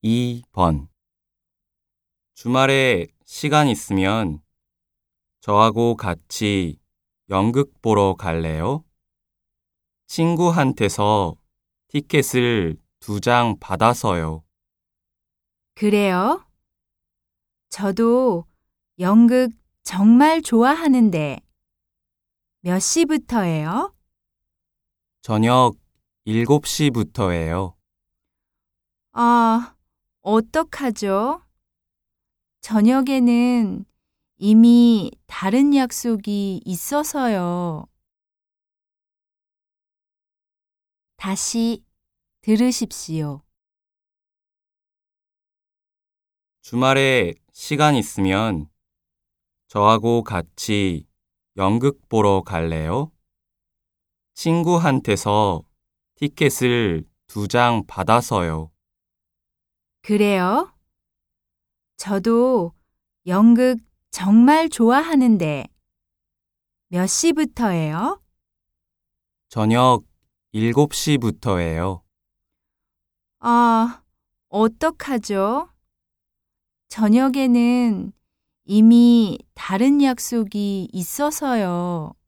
2번. 주말에 시간 있으면 저하고 같이 연극 보러 갈래요? 친구한테서 티켓을 2장 받아서요. 그래요? 저도 연극 정말 좋아하는데 몇 시부터예요? 저녁 7시부터예요. 아, 어떡하죠? 저녁에는 이미 다른 약속이 있어서요. 다시 들으십시오. 주말에 시간 있으면 저하고 같이 연극 보러 갈래요? 친구한테서 티켓을 2장 받아서요. 그래요? 저도 연극 정말 좋아하는데 몇 시부터예요? 저녁 7시부터예요. 아, 어떡하죠? 저녁에는 이미 다른 약속이 있어서요.